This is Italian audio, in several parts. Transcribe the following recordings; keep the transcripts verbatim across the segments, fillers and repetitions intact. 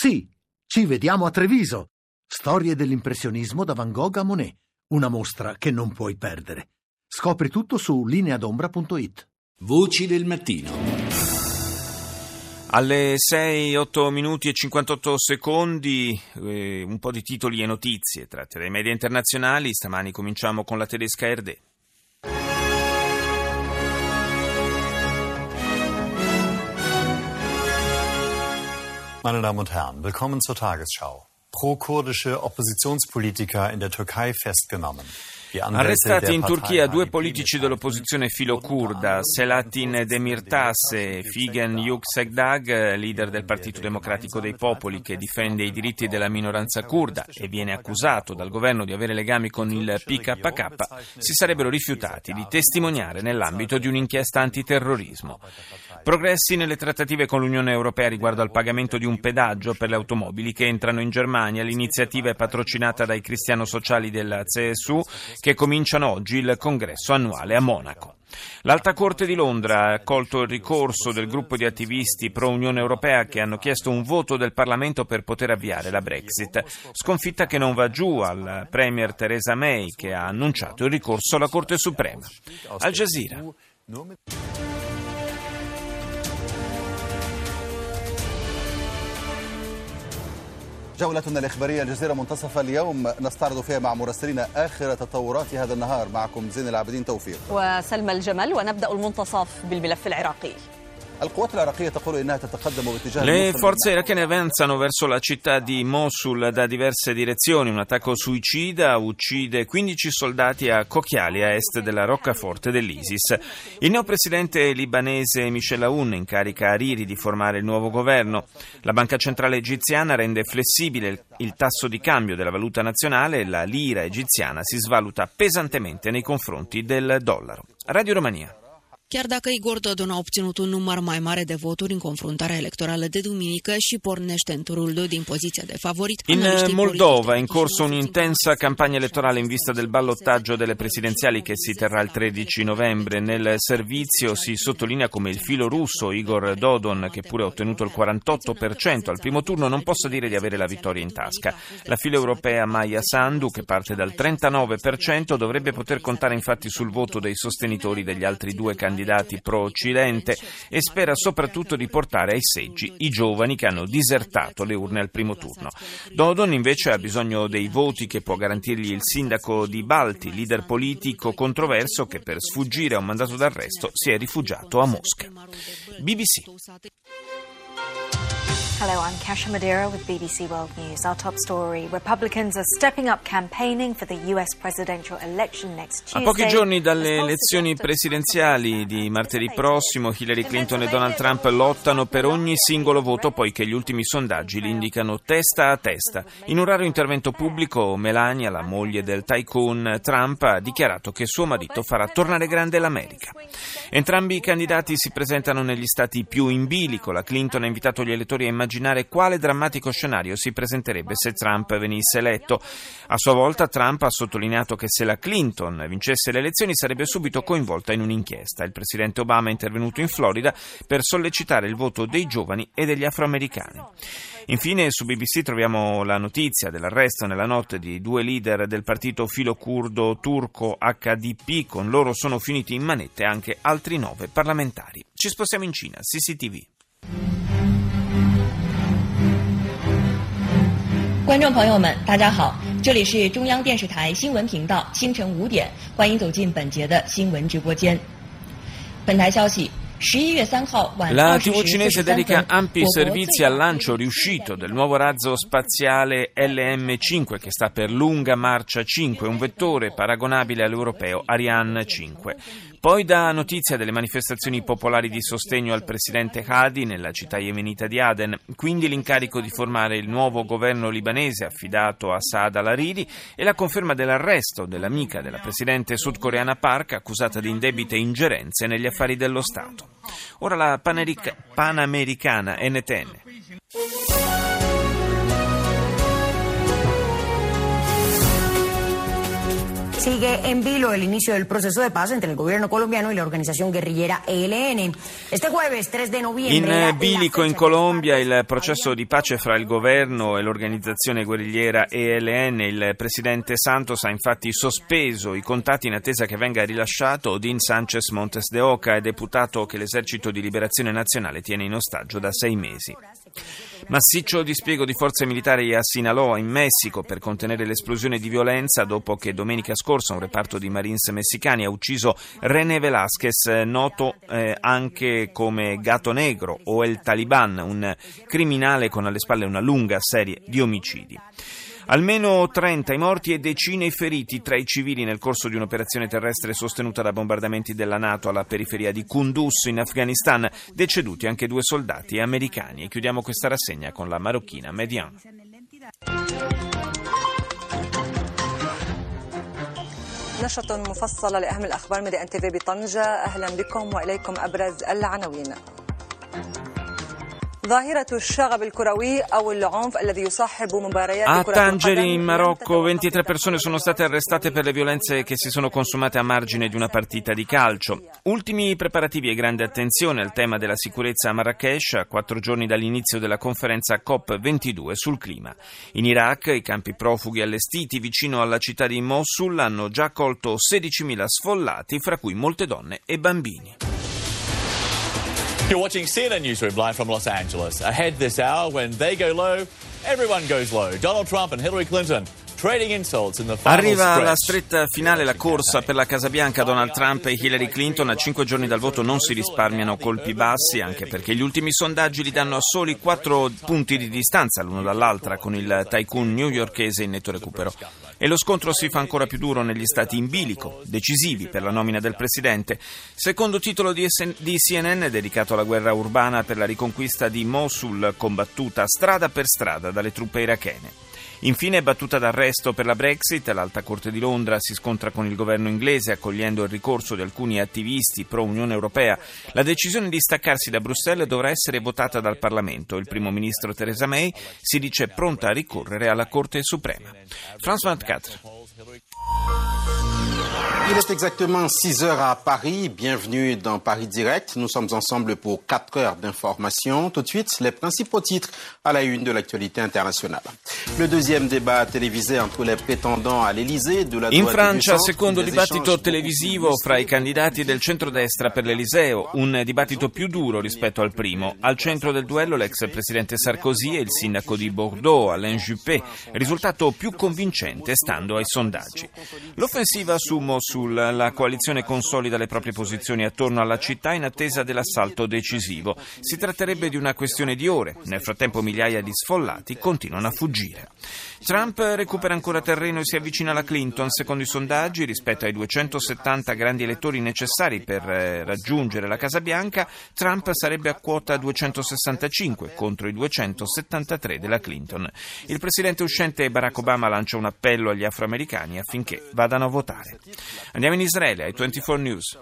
Sì, ci vediamo a Treviso. Storie dell'impressionismo da Van Gogh a Monet. Una mostra che non puoi perdere. Scopri tutto su lineadombra punto it. Voci del mattino. Alle sei, otto minuti e cinquantotto secondi, eh, un po' di titoli e notizie tratte dai media internazionali. Stamani cominciamo con la tedesca R D. Meine Damen und Herren, willkommen zur Tagesschau. Pro-kurdische Oppositionspolitiker in der Türkei festgenommen. Arrestati in Turchia due politici dell'opposizione filo-kurda, Selahattin Demirtas e Figen Yüksekdag, leader del Partito Democratico dei Popoli che difende i diritti della minoranza kurda e viene accusato dal governo di avere legami con il P K K, si sarebbero rifiutati di testimoniare nell'ambito di un'inchiesta antiterrorismo. Progressi nelle trattative con l'Unione Europea riguardo al pagamento di un pedaggio per le automobili che entrano in Germania. L'iniziativa è patrocinata dai cristiano-sociali della C S U che cominciano oggi il congresso annuale a Monaco. L'Alta Corte di Londra ha accolto il ricorso del gruppo di attivisti pro-Unione Europea che hanno chiesto un voto del Parlamento per poter avviare la Brexit. Sconfitta che non va giù al Premier Theresa May, che ha annunciato il ricorso alla Corte Suprema. Al Jazeera. جولتنا الإخبارية الجزيرة منتصف اليوم نستعرض فيها مع مراسلين آخر تطورات هذا النهار. معكم زين العابدين توفيق وسلمى الجمل، ونبدأ المنتصف بالملف العراقي. Le forze irachene avanzano verso la città di Mosul da diverse direzioni. Un attacco suicida uccide quindici soldati a Khokhali, a est della roccaforte dell'ISIS. Il neopresidente libanese Michel Aoun incarica Hariri di formare il nuovo governo. La banca centrale egiziana rende flessibile il tasso di cambio della valuta nazionale e la lira egiziana si svaluta pesantemente nei confronti del dollaro. Radio Romania. Chiar dacă Igor Dodon a obținut un număr mai mare de voturi în confruntarea elettorală de duminică și pornește în turul doi din poziția de favorit. In Moldova è in corso un'intensa campagna elettorale in vista del ballottaggio delle presidenziali che si terrà il tredici novembre. Nel servizio si sottolinea come il filo russo Igor Dodon, che pure ha ottenuto il quarantotto per cento al primo turno, non possa dire di avere la vittoria in tasca. La filo europea Maia Sandu, che parte dal trentanove per cento, dovrebbe poter contare infatti sul voto dei sostenitori degli altri due candidati candidati pro-Occidente e spera soprattutto di portare ai seggi i giovani che hanno disertato le urne al primo turno. Dodon invece ha bisogno dei voti che può garantirgli il sindaco di Balti, leader politico controverso che per sfuggire a un mandato d'arresto si è rifugiato a Mosca. B B C. Hello, I'm Kasia Madeira with B B C World News. Our top story: Republicans are stepping up campaigning for the U S presidential election next Tuesday. A pochi giorni dalle elezioni presidenziali di martedì prossimo, Hillary Clinton e Donald Trump lottano per ogni singolo voto, poiché gli ultimi sondaggi li indicano testa a testa. In un raro intervento pubblico, Melania, la moglie del tycoon Trump, ha dichiarato che suo marito farà tornare grande l'America. Entrambi i candidati si presentano negli stati più in bilico. La Clinton ha invitato gli elettori a immaginare immaginare quale drammatico scenario si presenterebbe se Trump venisse eletto. A sua volta Trump ha sottolineato che se la Clinton vincesse le elezioni sarebbe subito coinvolta in un'inchiesta. Il presidente Obama è intervenuto in Florida per sollecitare il voto dei giovani e degli afroamericani. Infine su B B C troviamo la notizia dell'arresto nella notte di due leader del partito filo-curdo turco H D P. Con loro sono finiti in manette anche altri nove parlamentari. Ci spostiamo in Cina, C C T V. 观众朋友们，大家好，这里是中央电视台新闻频道，清晨五点，欢迎走进本节的新闻直播间。本台消息。 La tivù cinese dedica ampi servizi al lancio riuscito del nuovo razzo spaziale L M cinque che sta per Lunga Marcia cinque, un vettore paragonabile all'europeo Ariane cinque. Poi dà notizia delle manifestazioni popolari di sostegno al presidente Hadi nella città yemenita di Aden, quindi l'incarico di formare il nuovo governo libanese affidato a Saad al-Hariri e la conferma dell'arresto dell'amica della presidente sudcoreana Park accusata di indebite ingerenze negli affari dello Stato. Ora la Panerica, Panamericana N T N. sigue en vilo el inicio del proceso de paz entre el gobierno colombiano y la organización guerrillera E L N. Este jueves tres de noviembre. In bilico in Colombia il processo di pace fra il governo e l'organizzazione guerrigliera E L N. Il presidente Santos ha infatti sospeso i contatti in attesa che venga rilasciato Odín Sánchez Montes de Oca, deputato che l'esercito di liberazione nazionale tiene in ostaggio da sei mesi. Massiccio dispiego di forze militari a Sinaloa, in Messico, per contenere l'esplosione di violenza dopo che domenica scorsa un reparto di Marines messicani ha ucciso René Velázquez, noto eh, anche come Gato Negro o El Taliban, un criminale con alle spalle una lunga serie di omicidi. Almeno trenta i morti e decine i feriti tra i civili nel corso di un'operazione terrestre sostenuta da bombardamenti della NATO alla periferia di Kunduz in Afghanistan, deceduti anche due soldati americani. E chiudiamo questa rassegna con la marocchina Median. نشرة مفصلة لأهم الأخبار من إن تي في بطنجة. أهلا بكم وإليكم أبرز العناوين. A Tangeri, in Marocco, ventitré persone sono state arrestate per le violenze che si sono consumate a margine di una partita di calcio. Ultimi preparativi e grande attenzione al tema della sicurezza a Marrakech, a quattro giorni dall'inizio della conferenza COP ventidue sul clima. In Iraq, i campi profughi allestiti vicino alla città di Mosul hanno già accolto sedicimila sfollati, fra cui molte donne e bambini. You're watching C N N Newsroom live from Los Angeles. Ahead this hour, when they go low, everyone goes low. Donald Trump and Hillary Clinton trading insults in the final Arriva stretch. alla stretta finale la corsa per la Casa Bianca. Donald Trump e Hillary Clinton a cinque giorni dal voto non si risparmiano colpi bassi, anche perché gli ultimi sondaggi li danno a soli quattro punti di distanza l'uno dall'altra, con il tycoon newyorkese in netto recupero. E lo scontro si fa ancora più duro negli stati in bilico, decisivi per la nomina del presidente. Secondo titolo di C N N dedicato alla guerra urbana per la riconquista di Mosul, combattuta strada per strada dalle truppe irachene. Infine, battuta d'arresto per la Brexit, l'Alta Corte di Londra si scontra con il governo inglese accogliendo il ricorso di alcuni attivisti pro-Unione Europea. La decisione di staccarsi da Bruxelles dovrà essere votata dal Parlamento. Il primo ministro Theresa May si dice pronta a ricorrere alla Corte Suprema. France ventiquattro. Il est exactement six heures à Paris. Bienvenue dans Paris Direct. Nous sommes ensemble pour quatre heures d'information. Tout de suite, les principaux titres à la une de l'actualité internazionale. Le deuxième débat télévisé entre les prétendants à l'Élysée de la In Francia, secondo dibattito televisivo fra i candidati del centrodestra per l'Eliseo, un dibattito più duro rispetto al primo. Al centro del duello l'ex presidente Sarkozy e il sindaco di Bordeaux, Alain Juppé, risultato più convincente stando ai sondaggi. L'offensiva su Mosul. La coalizione consolida le proprie posizioni attorno alla città in attesa dell'assalto decisivo. Si tratterebbe di una questione di ore. Nel frattempo migliaia di sfollati continuano a fuggire. Trump recupera ancora terreno e si avvicina alla Clinton. Secondo i sondaggi, rispetto ai duecentosettanta grandi elettori necessari per raggiungere la Casa Bianca, Trump sarebbe a quota duecentosessantacinque contro i duecentosettantatré della Clinton. Il presidente uscente Barack Obama lancia un appello agli afroamericani affinché vadano a votare. Andiamo in Israele, ai ventiquattro News.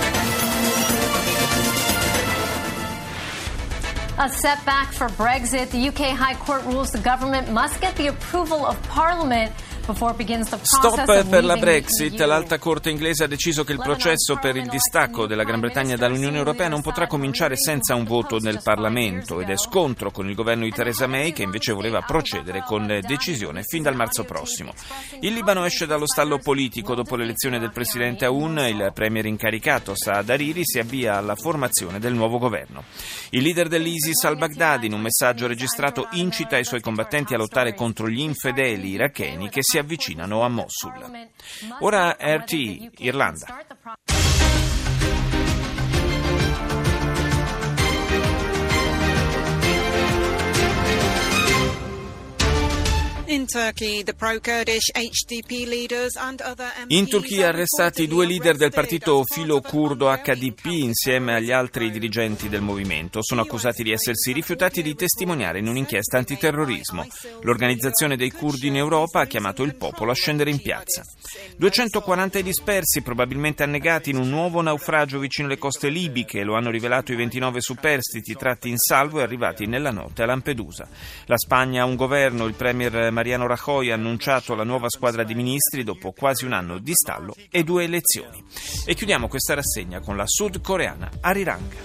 A setback for Brexit. The U K High Court rules the government must get the approval of Parliament. Stop per la Brexit. L'Alta Corte inglese ha deciso che il processo per il distacco della Gran Bretagna dall'Unione Europea non potrà cominciare senza un voto nel Parlamento ed è scontro con il governo di Theresa May, che invece voleva procedere con decisione fin dal marzo prossimo. Il Libano esce dallo stallo politico. Dopo l'elezione del presidente Aoun, il premier incaricato Saad Hariri si avvia alla formazione del nuovo governo. Il leader dell'ISIS al-Baghdadi, in un messaggio registrato, incita i suoi combattenti a lottare contro gli infedeli iracheni che si avvicinano a Mosul. Ora R T I, Irlanda. In Turchia arrestati due leader del partito filo-curdo H D P insieme agli altri dirigenti del movimento. Sono accusati di essersi rifiutati di testimoniare in un'inchiesta antiterrorismo. L'organizzazione dei curdi in Europa ha chiamato il popolo a scendere in piazza. duecentoquaranta dispersi, probabilmente annegati in un nuovo naufragio vicino alle coste libiche. Lo hanno rivelato i ventinove superstiti tratti in salvo e arrivati nella notte a Lampedusa. La Spagna ha un governo, il premier Mariano Mariano Rajoy ha annunciato la nuova squadra di ministri dopo quasi un anno di stallo e due elezioni. E chiudiamo questa rassegna con la sudcoreana Arirang.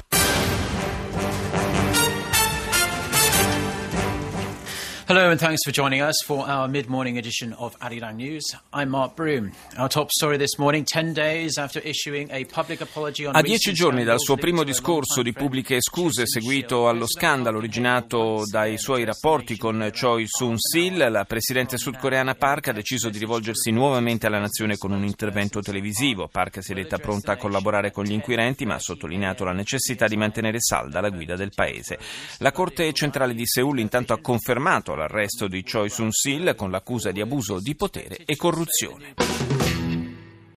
Hello and thanks for joining us for our mid-morning edition of Arirang News. I'm Mark Broom. Our top story this morning, ten days after issuing a public apology on A dieci giorni dal suo primo discorso di pubbliche scuse seguito allo scandalo originato dai suoi rapporti con Choi Soon-sil, la presidente sudcoreana Park ha deciso di rivolgersi nuovamente alla nazione con un intervento televisivo. Park si è detta pronta a collaborare con gli inquirenti, ma ha sottolineato la necessità di mantenere salda la guida del paese. La Corte centrale di Seul intanto ha confermato l'arresto di Choi Soon-sil con l'accusa di abuso di potere e corruzione.